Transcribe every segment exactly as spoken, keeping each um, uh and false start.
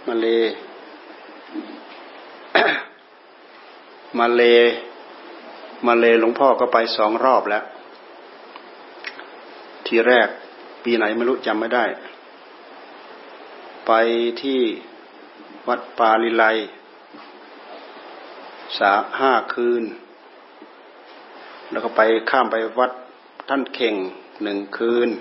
มาเลมาเลมาเลหลวงพ่อก็ไปสองรอบแล้วทีแรกปีไหนไม่รู้จำไม่ได้ไปที่วัดปาลิไลสาห้าคืนแล้วก็ไปข้ามไปวัดท่านเข่งหนึ่งคืน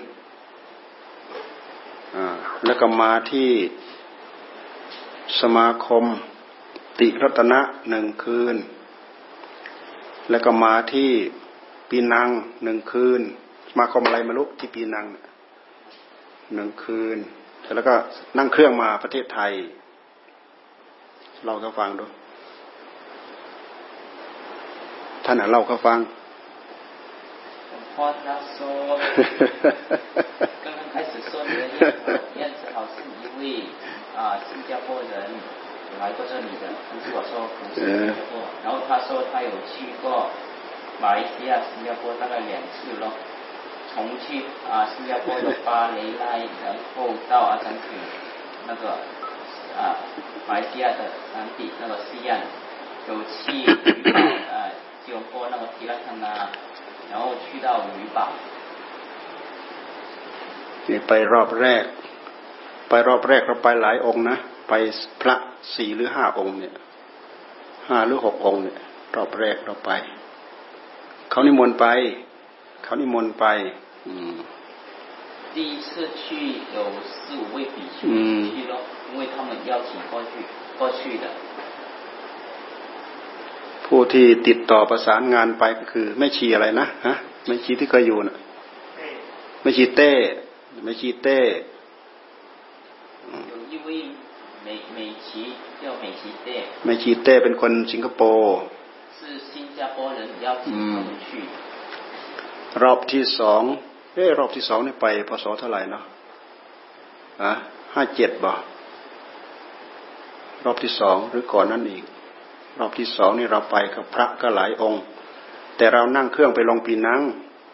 อ่าแล้วก็มาที่สมาคมติรัตนะหนึ่งคืนแล้วก็มาที่ปีนังหนึ่งคืนสมาคมอะไรไม่รู้ที่ปีนังหนึ่งคืนแล้วก็นั่งเครื่องมาประเทศไทยเราก็ฟังดูท่านเล่าเขาฟังพอ他说刚刚开始说你的样子好像一位啊新加坡人来过这里的但是我说不是新加坡然后他说他有去过马来西亚新加坡大概两次咯从去啊新加坡的巴雷拉然后到阿三区那个啊马来西亚的山地那个西岸有去啊吉隆坡那个提拉康纳然后去到鱼堡นี่ไปรอบแรกไปรอบแรกเราไปหลายองค์นะไปพระสี่หรือห้าองค์เนี่ยห้าหรือหกองค์เนี่ยรอบแรกเราไปเขานิมนต์ไปเขานิมนต์ไปอืม第一次去有四五位比丘去咯因为他们邀请过去过去的ผู้ที่ติดต่อประสานงานไปก็คือแม่ชีอะไรนะฮะแม่ชีที่เคยอยู่น่ะแม่ชีเต้แม่ชีเต้有一位美美琪叫美琪เต้แม่ชีเต้เป็นคนสิงคโปร์是新加坡人邀请他们去รอบที่สองเอ้รอบที่สองนี่ไปพศเท่าไหร่เนาะอ่ะห้าเจ็ดบ่รอบที่สองหรือก่อนนั้นอีกรอบที่สองนี่เราไปกับพระก็หลายองค์แต่เรานั่งเครื่องไปลงปีนัง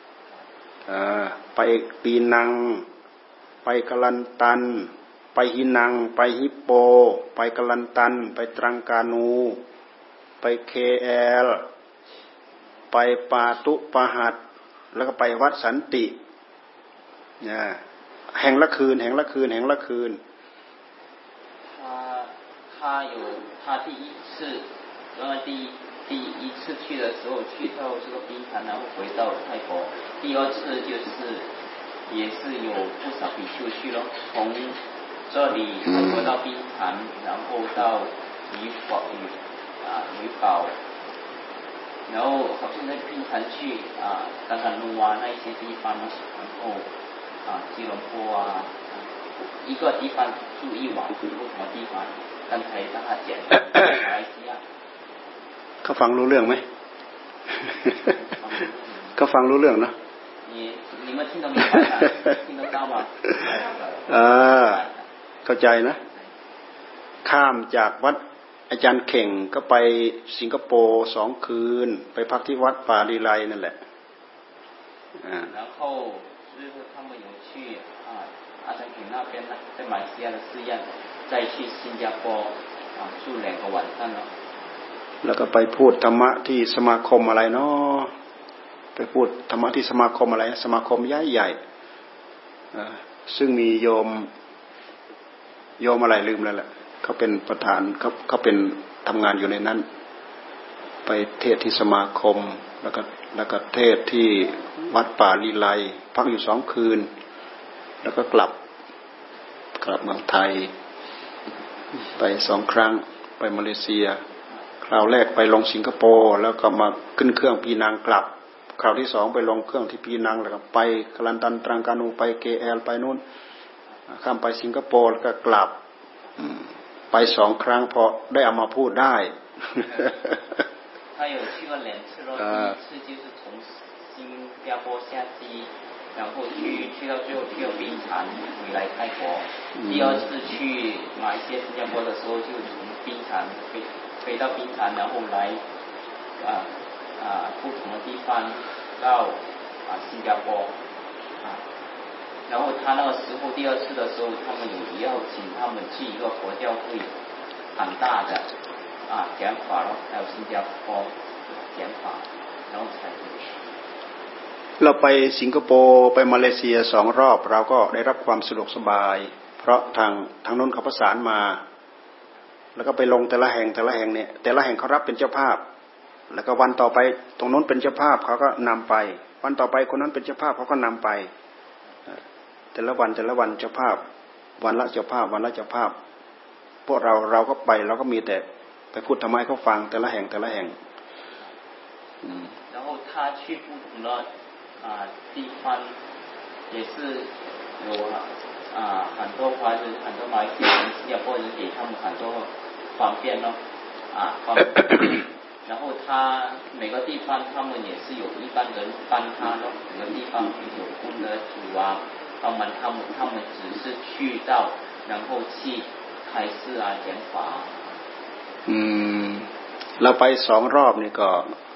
ไปปีนังไปกลันตันไปหินังไปฮิปโปไปกลันตันไปตรังกานูไปเคแอลไปปาตุปะหัดแล้วก็ไปวัดสันติเนี่ยแห่งละคืนแห่งละคืนแห่งละคืน他他有他第一次然后第第一次去的时候去到这个冰潭然后回到泰国第二次就是也是有不少比丘去了从这里泰国到冰潭然后到鱼堡鱼啊鱼堡然后好像在冰潭去啊刚刚路啊那些地方然后啊吉隆坡啊一个地方住一晚不同的地方刚才大家讲马来西亚เขาฟังรู้เรื่องไหมเขาฟังรู้เรื่องนะ你你们听得明白吗听得到吗อ่าเข้าใจนะข้ามจากวัดอาจารย์เข่งก็ไปสิงคโปร์สองคืนไปพักที่วัดป่าลีไลนั่นแหละอ่า然后就是他们有去啊阿三坪那边呢在马来西亚的寺院再去新加坡啊住两个晚上了แล้วก็ไปพูดธรรมะที่สมาคมอะไรเนาะไปพูดธรรมะที่สมาคมอะไรสมาคมใหญ่ใหญ่ซึ่งมีโยมโยมอะไรลืมแล้วแหละเขาเป็นประธานเขาเขาเป็นทำงานอยู่ในนั้นไปเทศที่สมาคมแล้วก็แล้วก็เทศที่วัดป่าลีไลพักอยู่สองคืนแล้วก็กลับกลับเมืองไทยไปสองครั้งไปมาเลเซียคราวแรกไปลงสิงคโปร์แล้วก็มาขึ้นเครื่องปีนังกลับคราวที่สองไปลงเครื่องที่ปีนังแล้วก็ไปกลันตันตรังกานูไปเคแอลไปนู่นข้ามไปสิงคโปร์แล้วก็กลับไปสองครั้งพอได้เอามาพูดได้他有去过两次咯，第一次就是从新加坡下机，然后去去到最后去了槟城，回来泰国。第二次去马来西亚、新加坡的时候，就从槟城飞飞到槟城，然后来啊啊不同的地方到啊新加坡啊。 然后他那个时候第二次的时候，他们有要请他们去一个佛教会很大的啊讲法咯，还有新加坡讲法，然后才เราไปสิงคโปร์ไปมาเลเซียสองรอบเราก็ได้รับความสะดวกสบายเพราะทางทางโน้นเขาประสานมาแล้วก็ไปลงแต่ละแห่งแต่ละแห่งเนี่ยแต่ละแห่งเขารับเป็นเจ้าภาพแล้วก็วันต่อไปตรงโน้นเป็นเจ้าภาพเขาก็นำไปวันต่อไปคนนั้นเป็นเจ้าภาพเขาก็นำไปแต่ละวันแต่ละวันเจ้าภาพวันละเจ้าภาพวันละเจ้าภาพพวกเราเราก็ไปเราก็มีแต่ไปพูดทำไมเขาฟังแต่ละแห่งแต่ละแห่ง然后他去不同的啊地方也是有啊很多华人很多马来西亚人新加坡人给他们很多方便咯啊方便然后他每个地方他们也是有一般人帮他咯每个地方有功德主啊帮忙他们他们只是去到然后去开示啊讲法อืมเราไปสองรอบนี่ก็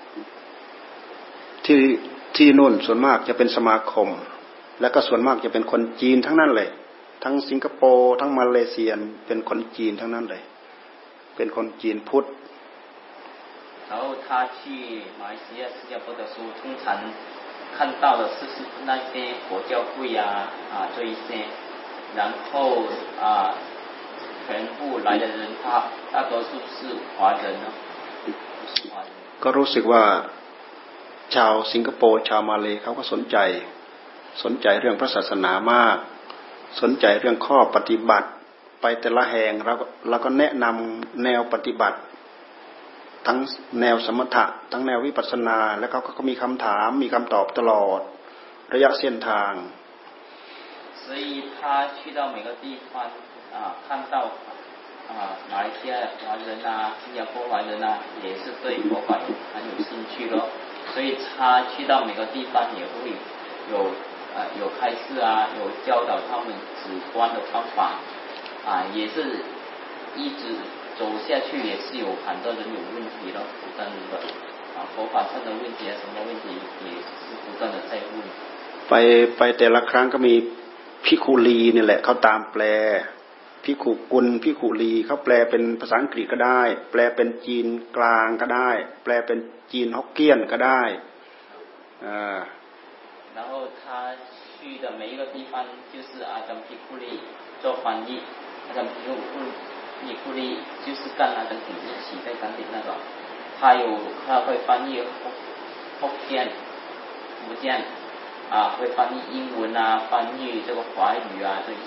ที่ที่นู่นส่วนมากจะเป็นสมาคมแล้วก็ส่วนมากจะเป็นคนจีนทั้งนั้นเลยทั้งสิงคโปร์ทั้งมาเลเซียเป็นคนจีนทั้งนั้นเลยเป็นคนจีนพุทธ然后他去马来西亚新加坡的时候通常看到的是是那些佛教会啊啊这一些然后啊全部来的人他大多数是华人呢ก็รู้สึกว่าชาวสิงคโปร์ชาวมาเลเขาก็สนใจสนใจเรื่องพระศาสนามากสนใจเรื่องข้อปฏิบัติไปแต่ละแห่งเราเราก็แนะนำแนวปฏิบัติทั้งแนวสมถะทั้งแนววิปัสสนาแล้วเขาก็มีคำถามมีคำตอบตลอดระยะเส้นทาง所以他去到每个地方啊看到啊马来西亚华人啊新加坡华人啊也是对佛法很有兴趣咯所以他去到每个地方也会有呃有开示啊有教导他们止观的方法啊也是一直走下去也是有很多人有问题咯不断的啊佛法上的问题啊什么问题也是不断的在问ไปไปแต่ละครั้งก็มีภิกขุลีนี่แหละเขาตามแปลภิกขุกุลภิกขุลีเขาแปลเป็นภาษาอังกฤษก็ได้แปลเป็นจีนกลางก็ได้แปลเป็นจีนฮกเกี้ยนก็ได้อ่า然后他去的每一个地方就是阿张毗库利做翻译阿张毗库毗库利就是跟阿张顶一起在山顶那个他有他会翻译福建福建啊会翻译英文啊翻译这个华语啊这些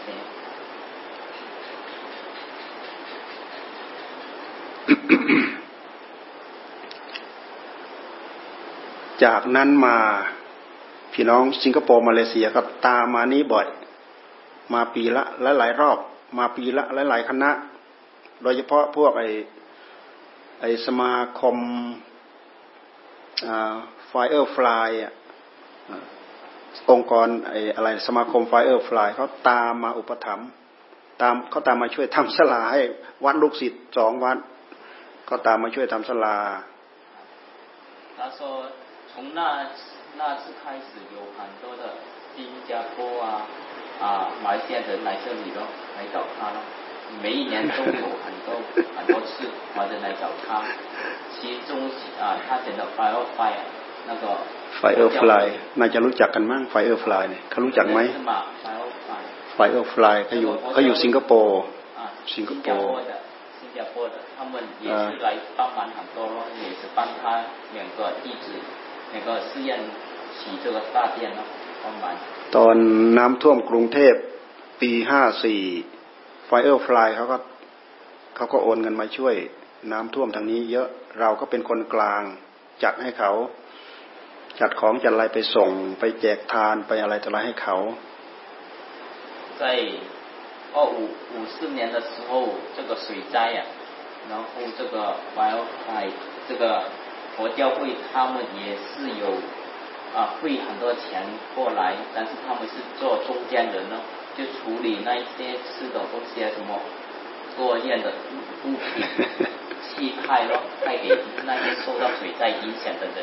จากนั้นมาพี่น้องสิงคโปร์มาเลเซียก็ตามมานี้บ่อยมาปีละหลายๆรอบมาปีละหลายๆคณะโดยเฉพาะพวกไอ้ไอ้สมาคมอ่า Firefly อ่ะองค์กรไอ้อะไรสมาคม Firefly เขาตามมาอุปถัมภ์ตามเขาตามมาช่วยทำศาลาให้วัดลูกศิษย์สองวัดก็ตามมาช่วยทำศาลา他说从那那次开始有很多的新加坡啊啊马来西亚人来这里咯来找他咯每一年都有很多很多次华人来找他其中啊他讲的 Firefly 那个 Firefly น่าจะรู้จักกันมั้ง Firefly เนี่ยเขารู้จักไหม Firefly เขาอยู่เขาอยู่สิงคโปร์สิงคโปร์新加坡的他们也是来帮忙很多咯也是帮他两个弟子那个寺院起这个大殿咯帮忙ตอนน้ำท่วมกรุงเทพปีห้าสี่ Firefly เขาก็เขาก็โอนเงินมาช่วยน้ำท่วมทางนี้เยอะเราก็เป็นคนกลางจัดให้เขาจัดของจัดอะไรไปส่งไปแจกทานไปอะไรต่ออะไรให้เขา在二五五四年的时候这个水灾啊然后这个 Firefly 这个佛教会他们也是有啊汇很多钱过来但是他们是做中间人呢就处理那一些吃的东西啊什么作业的物品气派咯派给那些受到水灾影响的人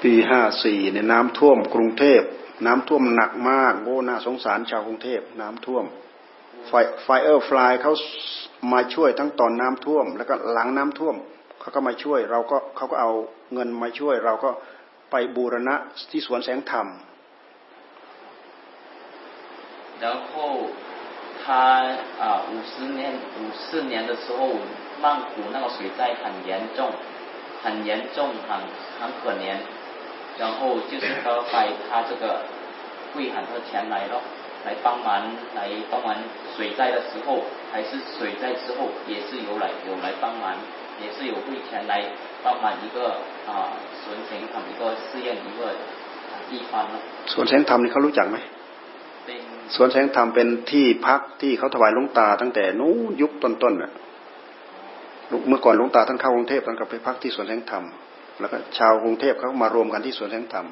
ปีห้าสี่เนี่ยน้ำท่วมกรุงเทพน้ำท่วมหนักมากโอ้น่าสงสารชาวกรุงเทพน้ำท่วมไฟไฟเออร์ฟลายเขามาช่วยทั้งตอนน้ำท่วมแล้วก็หลังน้ำท่วมเขาก็มาช่วยเราก็เขาก็เอาเงินมาช่วยเราก็ไปบูรณะที่สวนแสงธรรม然后他啊五十年五四年的时候曼谷那个水灾很严重很严重很很可怜然后就是他把他这个汇很多钱来咯来帮忙来帮忙水灾的时候还是水灾之后也是有来有来帮忙也是有汇钱来帮忙一个啊สวนแสงธรรม一个寺院一个地方咯สวนแสงธรรมนี่เขารู้จักไหมสวนแสงธรรมเป็นที่พักที่เขาถวายหลวงตาตั้งแต่นู้นยุคต้นๆน่ะเมื่อก่อนหลวงตาท่านเข้ากรุงเทพท่านก็ไปพักที่สวนแสงธรรมแล้วก็ชาวกรุงเทพเขามารวมกันที่สวนแสงธรรม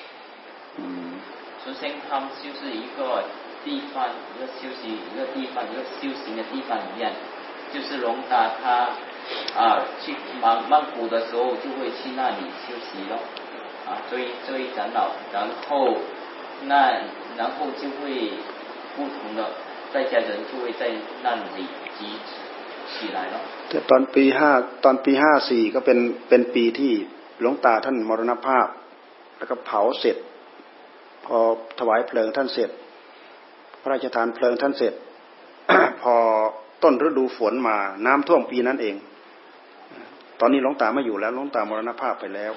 สวนแสงธรรม就是一个地方一个休息一个地方一个修行的地方一样就是龙达他啊去曼曼谷的时候就会去那里休息咯啊所以所以长老然后那然后就会不同的在家人就会在那里集起来了แต่ตอนปีห้าตอนปีห้าสี่ก็เป็นเป็นปีที่หลวงตาท่านมรณภาพแล้วก็เผาเสร็จพอถวายเพลิงท่านเสร็จพระราชทานเพลิงท่านเสร็จ พอต้นฤดูฝนมาน้ำท่วมปีนั้นเองตอนนี้หลวงตาไม่อยู่แล้วหลวงตามรณภาพไปแล้ว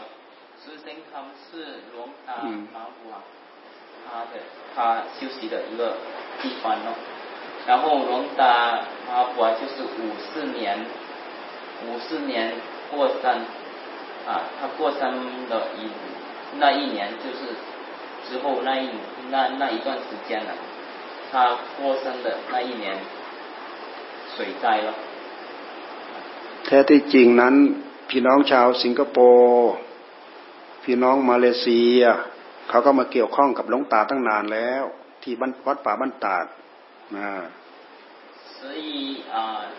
他的他休息的一个地方咯，然后龙达阿婆就是五四年，五四年过生啊，他过生的一那一年就是之后那一那那一段时间了，他过生的那一年水灾了。 แท้ที่จริงนั้นพี่น้องชาวสิงคโปร์พี่น้องมาเลเซียเขาก็มาเกี่ยวข้องกับหลวงตาตั้งนานแล้วที่วัดป่าบ้านตาดนะ所以啊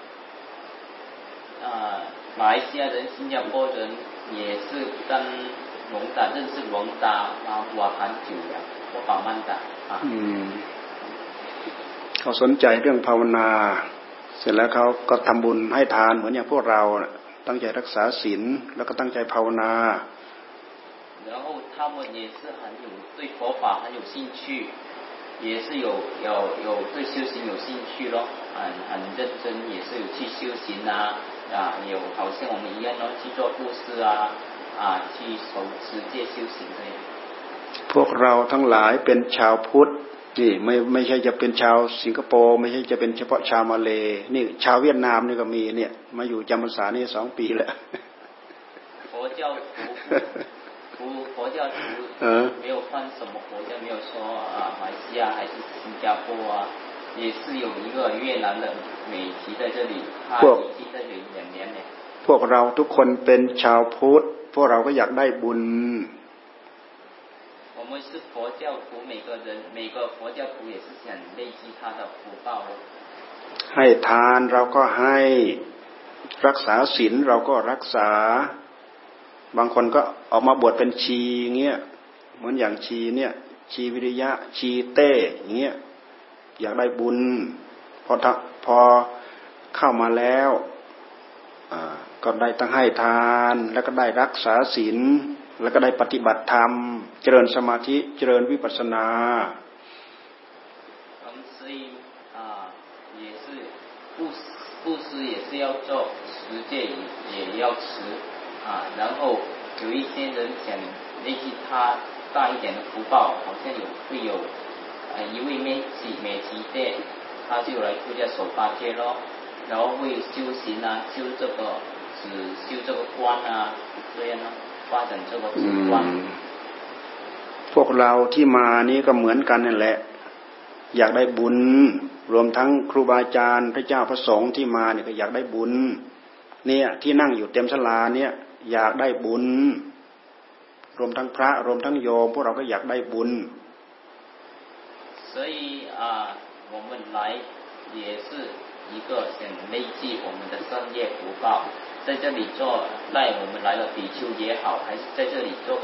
啊马来西亚人新加坡人也是跟龙达认识龙达啊我很久了我把曼达啊อืมเขาสนใจเรื่องภาวนาเสร็จแล้วเขาก็ทำบุญให้ทานเหมือนอย่างพวกเราตั้งใจรักษาศีลแล้วก็ตั้งใจภาวนา然后他们也是很有对佛法很有兴趣也是有有有对修行有兴趣咯很很认真也是有去修行啊啊有好像我们一样咯去做布施啊啊去守持戒修行这样พวกเราทั้งหลายเป็นชาวพุทธนี่ไม่ไม่ใช่จะเป็นชาวสิงคโปร์ไม่ใช่จะเป็นเฉพาะชาวมาเลนี่ชาวเวียดนามนี่ก็มีเนี่ยมาอยู่จำพรรษานี่สองปีแล้ว佛教徒佛佛教徒没有分什么国家没有说啊马来西亚还是新加坡啊也是有一个越南的美籍在这里他已经在这里两年了พวกเราทุกคนเป็นชาวพุทธพวกเราก็อยากได้บุญ我们是佛教徒每个人每个佛教徒也是想累积他的福报ให้ทานเราก็ให้รักษาศีลเราก็รักษาบางคนก็ออกมาบวชเป็นชีเงี้ยเหมือนอย่างชีเนี่ยชีวิริยะชีเต้อย่างเงี้ยอยากได้บุญพอพอเข้ามาแล้วก็ได้ตั้งให้ทานแล้วก็ได้รักษาศีลแล้วก็ได้ปฏิบัติธรรมเจริญสมาธิเจริญวิปัสสนา布施也是要做持戒也要持啊然后有一些人想累积他大一点的福报好像有会有呃一位美籍美籍的他就来出家守八戒咯然后会修行啊修这个只修这个观啊这样咯发展这个止观พวกเราที่มานี้ก็เหมือนกันนั่นแหละอยากได้บุญรวมทั้งครูบาอาจารย์พระเจ้าพระสงฆ์ที่มาเนี่ยก็อยากได้บุญเนี่ยที่นั่งอยู่เต็มศาลาเนี่ยอยากได้บุญรวมทั้งพระรวมทั้งโยมพวกเราก็อยากได้บุญ所以啊我们来也是一个想累积我们的善业福报在这里做带我们来了比丘也好还是在这里做个啊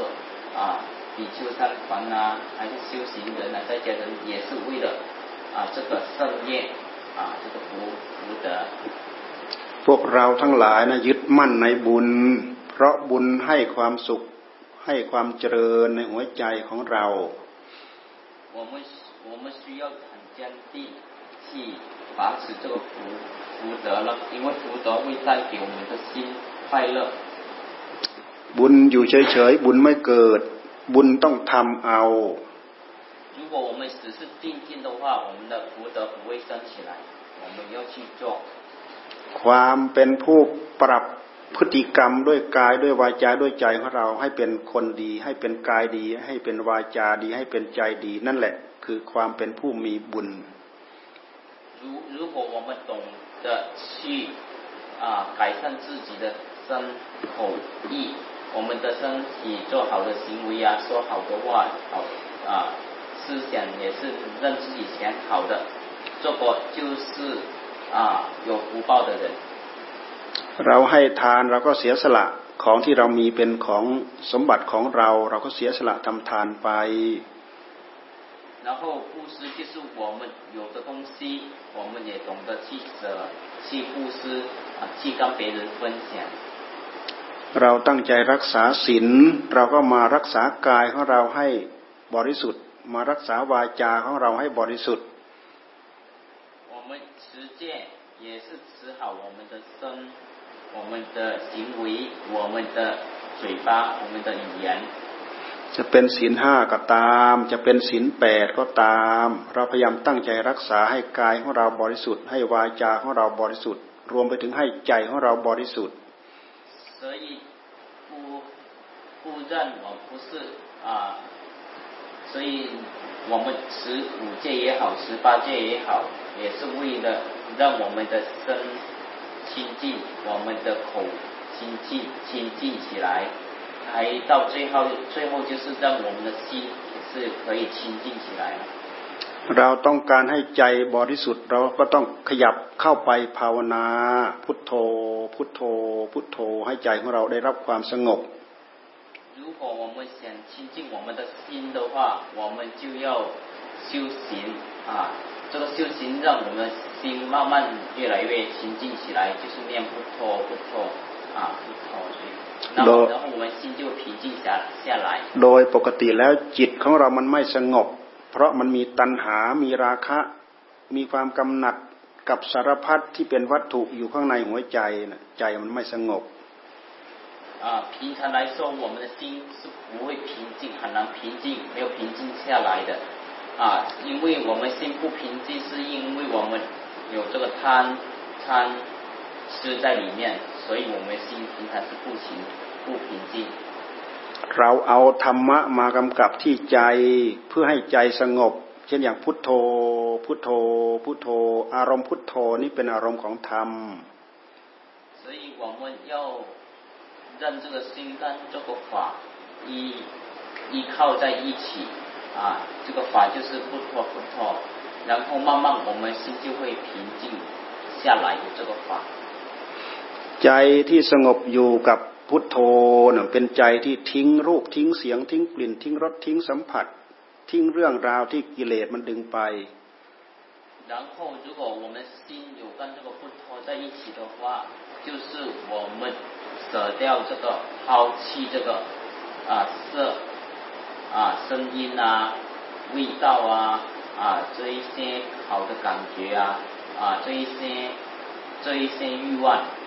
啊比丘三团啊，还是修行人啊，在家人也是为了啊这个圣业啊这个福福德。 พวกเราทั้งหลายนะยึดมั่นในบุญเพราะบุญให้ความสุขให้ความเจริญในหัวใจของเรา我们我们需要很坚定去把持这个福福德了，因为福德会带给我们的心快乐。 บุญอยู่เฉยๆบุญไม่เกิดบุญต้องทำเอา如果我们只是静静的话，我们的福德不会升起来，我们要去做。 ความเป็นผู้ปรับพฤติกรรมด้วยกายด้วยวาจาด้วยใจของเราให้เป็นคนดีให้เป็นกายดีให้เป็นวาจาดีให้เป็นใจดีนั่นแหละคือความเป็นผู้มีบุญ如如果我们懂得去啊改善自己的身口意，我们的身体做好的行为啊，说好的话，好啊思想也是让自己想好的，这个就是啊有福报的人。 เราให้ทานเราก็เสียสละของที่เรามีเป็นของสมบัติของเราเราก็เสียสละทำทานไป然后布施就是我们有的东西我们也懂得去舍去布施啊去跟别人分享เราตั้งใจรักษาศีลเราก็มารักษากายของเราให้บริสุทธิ์มารักษาวาจาของเราให้บริสุทธิ์我们持戒也是持好我们的身我们的行为我们的嘴巴我们的语言จะเป็นศีลห้าก็ตามจะเป็นศีลแปดก็ตามเราพยายามตั้งใจรักษาให้กายของเราบริสุทธิ์ให้วาจาของเราบริสุทธิ์รวมไปถึงให้ใจของเราบริสุทธิ์所以不不认我不是啊所以我们持五戒也好十八戒也好也是为了让我们的身清净我们的口清净清净起来还到最后最后就是让我们的心也是可以清净起来เราต้องการให้ใจบริสุทธิ์เราก็ต้องขยับเข้าไปภาวนาพุทโธพุทโธพุทโธให้ใจของเราได้รับความสงบ如果我们想清净我们的心的话我们就要修行啊这个修行让我们的心慢慢越来越清净起来就是念พุทโธพุทโธ啊พุทโธ然后然后我们心就平静下下来โดยปกติแล้วจิตของเรามันไม่สงบเพราะมันมีตัณหามีราคะมีความกำหนัดกับสารพัดที่เป็นวัตถุอยู่ข้างในหัวใจนะใจมันไม่สงบ啊平常来说我们的心是不会平静很难平静没有平静下来的啊因为我们心不平静是因为我们有这个贪贪吃在里面所以我们心平常是不平不平静เราเอาธรรมะมากำกับที่ใจเพื่อให้ใจสงบเช่นอย่างพุทโธพุทโธพุทโธอารมณ์พุทโธนี่เป็นอารมณ์ของธรรม所以我们要让这个心跟这个法依依靠在一起啊这个法就是พุทโธพุทโธ然后慢慢我们心就会平静下来有这个法ใจที่สงบอยู่กับพุทโธน่ะเป็นใจที่ทิ้งรูปทิ้งเสียงทิ้งกลิ่นทิ้งรสทิ้งสัมผัสทิ้งเรื่องราวที่กิเลสมันดึงไป然后如果我们心有跟这个พุทโธ在一起的话就是我们舍掉这个抛弃这个啊色啊声音啊味道啊啊这一些好的感觉啊啊这一些这一些欲望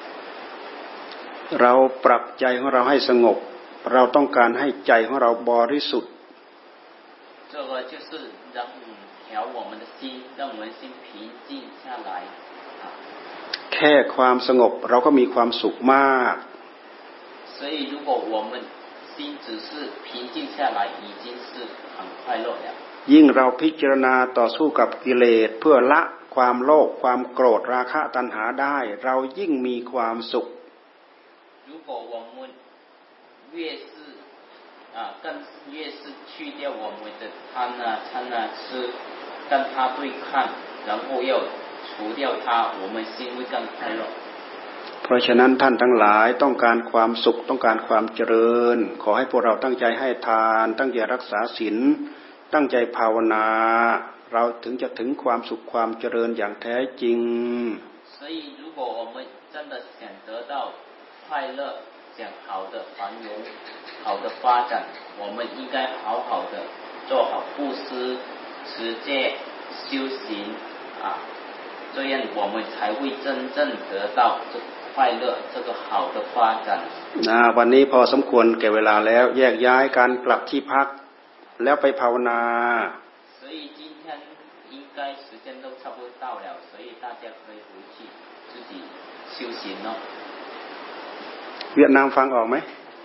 เราปรับใจของเราให้สงบเราต้องการให้ใจของเราบริสุทธิ์这个就是让调我们的心让我们心平静下来แค่ความสงบเราก็มีความสุขมาก所以如果我们心只是平静下来已经是很快乐了ยิ่งเราพิจารณาต่อสู้กับกิเลสเพื่อละความโลภความโกรธราคะตัณหาได้เรายิ่งมีความสุข如果我们越是啊更越是去掉我们的贪啊嗔啊痴跟它对抗然后要除掉它我们心会更快乐เพราะฉะนั้นท่านทั้งหลายต้องการความสุขต้องการความเจริญขอให้พวกเราตั้งใจให้ทานตั้งใจรักษาศีลตั้งใจภาวนาเราถึงจะถึงความสุขความเจริญอย่างแท้จริง所以如果我们真的想得到快乐想好的繁荣好的发展我们应该好好的做好布施持戒修行啊这样我们才会真正得到这快乐这个好的发展นะวันนี้พอสมควรแก่เวลาแล้วแยกย้ายการกลับที่พักแล้วไปภาวนา所以今天应该时间都差不多到了所以大家可以回去自己修行了เวียดนามฟังออกไหม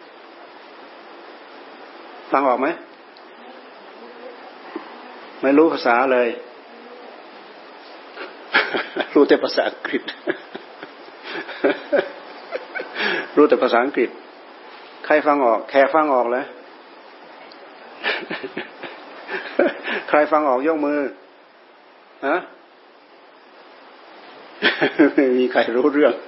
ฟังออกไหมไม่รู้ภาษาเลยรู้แต่ภาษาอังกฤษรู้แต่ภาษาอังกฤษใครฟังออกแขกฟังออกเลยใครฟังออกยกมือฮะไม่มีใครรู้เรื่อง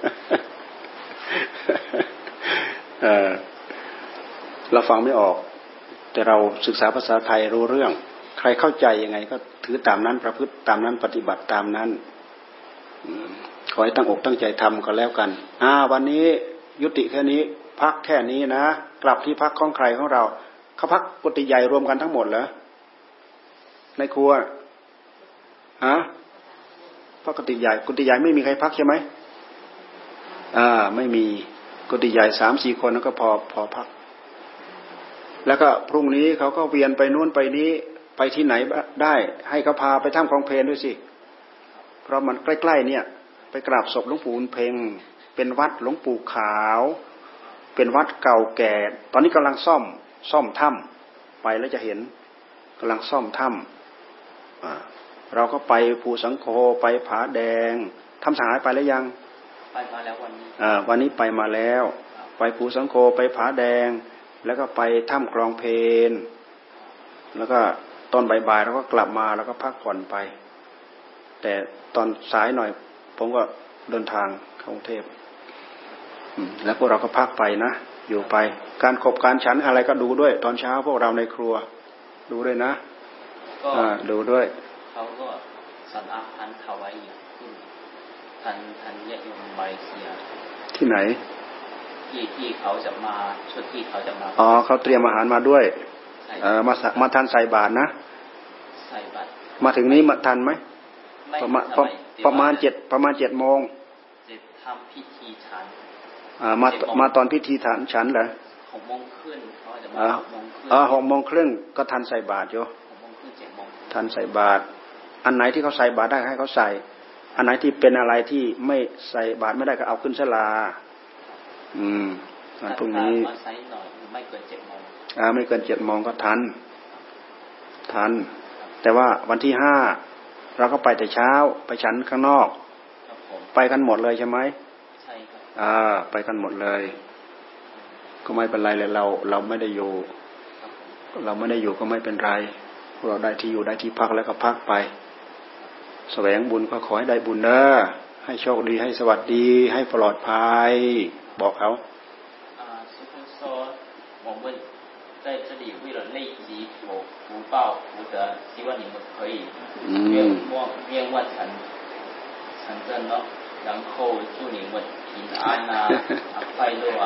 เออเราฟังไม่ออกแต่เราศึกษาภาษาไทยรู้เรื่องใครเข้าใจยังไงก็ถือตามนั้นประพฤติตามนั้นปฏิบัติตามนั้นขอให้ตั้งอกตั้งใจทำก็แล้วกันอ่าวันนี้ยุติแค่นี้พักแค่นี้นะกลับที่พักของใครของเราเขาพักกุฏิใหญ่รวมกันทั้งหมดเหรอในครัวฮะพักกุฏิใหญ่กุฏิใหญ่ไม่มีใครพักใช่ไหมอ่าไม่มีกุฏิใหญ่สามสี่คนแล้วก็พอพอพักแล้วก็พรุ่งนี้เขาก็เวียนไปนู้นไปนี้ไปที่ไหนได้ให้เขาพาไปถ้ำคลองเพลนด้วยสิเพราะมันใกล้ๆเนี่ยไปกราบศพหลวงปู่บุญเพ็งเป็นวัดหลวงปู่ขาวเป็นวัดเก่าแก่ตอนนี้กำลังซ่อมซ่อมถ้ำไปแล้วจะเห็นกำลังซ่อมถ้ำเราก็ไปภูสังโฆไปผาแดงถ้ำสหายไปแล้วยังไปมาแล้ววันนี้วันนี้ไปมาแล้วไปภูสังโฆไปผาแดงแล้วก็ไปถ้ำคลองเพลแล้วก็ตอนบ่ายๆเราก็กลับมาแล้วก็พักผ่อนไปแต่ตอนสายหน่อยผมก็เดินทางเข้ากรุงเทพแล้วพวกเราก็พักไปนะอยู่ไปการขบการฉันอะไรก็ดูด้วยตอนเช้าพวกเราในครัวดูด้วยนะดูด้วยเขาก็สั่งอาหารถวายขึ้นทันทันญาติโยมมาเลเซียที่ไหนที่ที่เขาจะมาชุดที่เขาจะมาอ๋อเขาเตรียมอาหารมาด้วยเออมามาทันใส่บาตรนะใส่บาตรมาถึงนี้มาทันไหมประมาณประมาณเจ็ดประมาณเจ็ดโมงเจ็ดทำพิธีฉันอ่ามามาตอนพิธีฉันฉันเหรอหกโมงครึ่งเขาจะมาหกโมงครึ่งอ๋อหกโมงครึ่งก็ทันใส่บาตรอยู่หกโมงครึ่งเจ็ดโมงทันใส่บาตรอันไหนที่เขาใส่บาตรได้ให้เขาใส่อันไหนที่เป็นอะไรที่ไม่ใส่บาตรไม่ได้ก็เอาขึ้นศาลาอืมวันพรุ่งนี้ไม่เกินเจ็ดโมงอ่าไม่เกินเจ็ดโมงก็ทันทันแต่ว่าวันที่ห้าเราก็ไปแต่เช้าไปฉันข้างนอกไปกันหมดเลยใช่ไหมใช่ครับอ่าไปกันหมดเลยก็ไม่เป็นไรเลยเราเราไม่ได้อยู่เราไม่ได้อยู่ก็ไม่เป็นไรเราได้ที่อยู่ได้ที่พักแล้วก็พักไปแสวงบุญก็ขอให้ได้บุญเด้อให้โชคดีให้สวัสดีให้ปลอดภัยบอกเขาอ่า师父说我们在这里为了累积福福报福德希望你们可以愿望愿望成成真咯然后祝你们平安啊快乐啊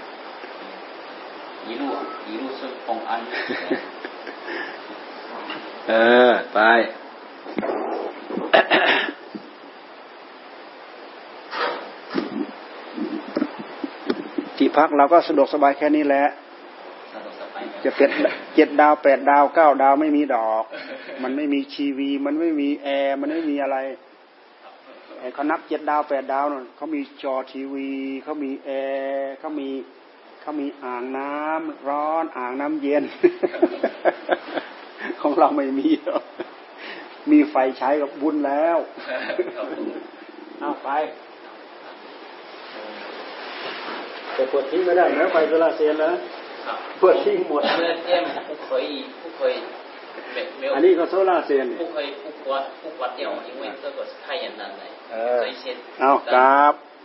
一路一路顺风安เออไปที่พักเราก็สะดวกสบายแค่นี้แหละจะเป็นเจ็ดดาวแปดดาวเก้าดาวไม่มีดอกมันไม่มีทีวีมันไม่มีแอร์มันไม่มีอะไรเขานับเจ็ดดาวแปดดาวนั่นเขามีจอทีวีเขามีแอร์เขามีเขามีอ่างน้ำร้อนอ่างน้ำเย็นของเราไม่มีมีไฟใช้กับบุญแล้วเอาไปแต่ปวดทิ้งไม่ได้นะไฟโซลาร์เซลล์นะปวดทิ้งหมด不可以不可以อันนี้ก็โซลาร์เซลล์不可以不关不关掉因为这个是太阳能的เอากราบ